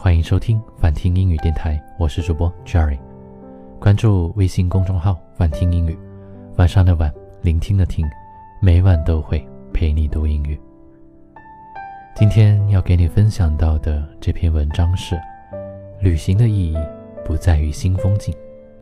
欢迎收听反听英语电台，我是主播 Jerry。 关注微信公众号反听英语，晚上的晚，聆听的听，每晚都会陪你读英语。今天要给你分享到的这篇文章是旅行的意义不在于新风景。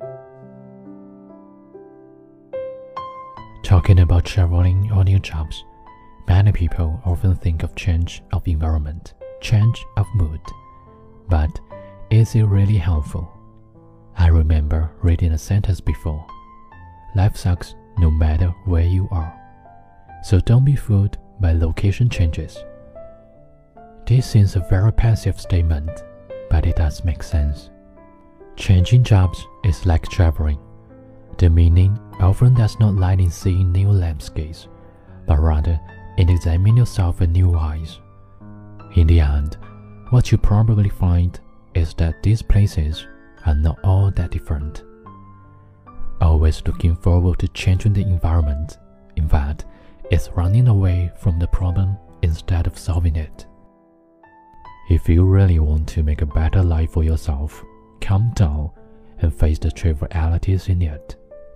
Talking about traveling or new jobs, many people often think of change of environment, change of mood. But is it really helpful? I remember reading a sentence before. Life sucks no matter where you are. So don't be fooled by location changes. This seems a very passive statement, but it does make sense. Changing jobs is like traveling. The meaning often does not lie in seeing new landscapes, but rather in examining yourself with new eyes. In the end, what you probably find is that these places are not all that different. Always looking forward to changing the environment, in fact, is running away from the problem instead of solving it. If you really want to make a better life for yourself, calm down and face the trivialities in it.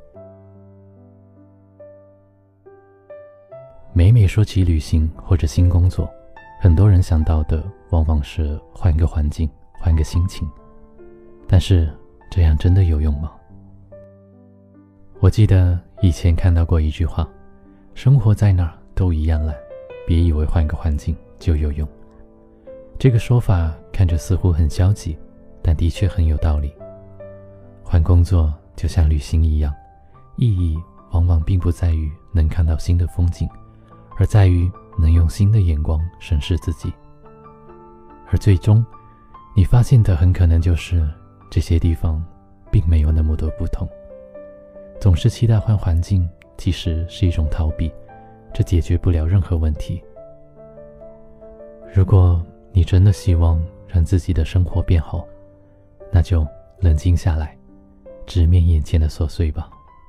每每说起旅行或者新工作，很多人想到的往往是换个环境，换个心情。但是这样真的有用吗？我记得以前看到过一句话，生活在哪儿都一样烂，别以为换个环境就有用。这个说法看着似乎很消极，但的确很有道理。换工作就像旅行一样，意义往往并不在于能看到新的风景，而在于能用新的眼光审视自己。而最终你发现的很可能就是这些地方并没有那么多不同。总是期待换环境其实是一种逃避，这解决不了任何问题。如果你真的希望让自己的生活变好，那就冷静下来，直面眼前的琐碎吧。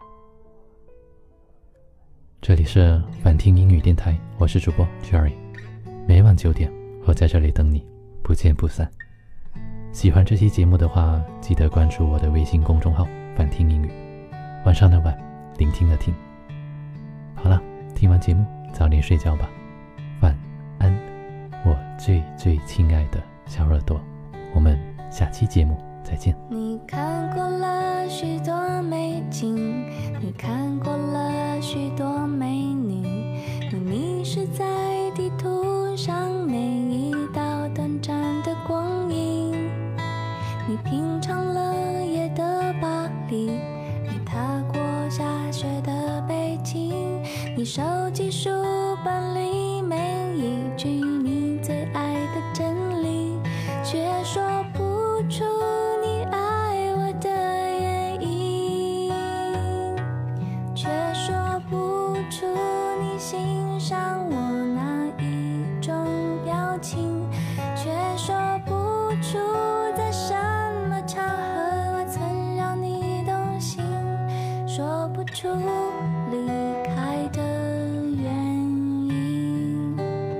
这里是反听英语电台，我是主播 Jerry， 每晚9点我在这里等你，不见不散。喜欢这期节目的话，记得关注我的微信公众号反听英语。晚上的晚，聆听的听。好了，听完节目早点睡觉吧，晚安，我最最亲爱的小耳朵，我们下期节目再见。 你看过了许多美景，你看过了许多美女，你迷失在地图上每一道短暂的光阴，你品尝了夜的巴黎，你踏过下雪的北京，你收集书本里每一句你最爱的真理，却说不出你爱我的原因，却说不出你欣赏我哪一种表情，却说不出在什么场合我曾让你动心，说不出离开的原因。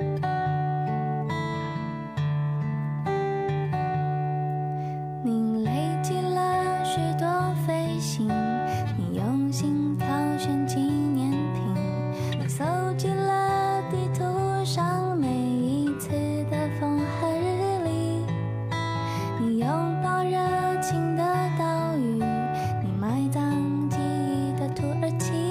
你累积了许多飞行，你用心挑选纪念品，你搜集了地图上每一次的风和日丽，你拥抱热情的岛屿，你埋葬记忆的土耳其。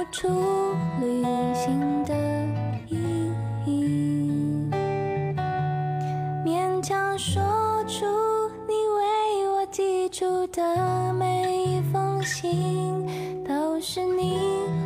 出旅行的意义，勉强说出你为我寄出的每一封信，都是你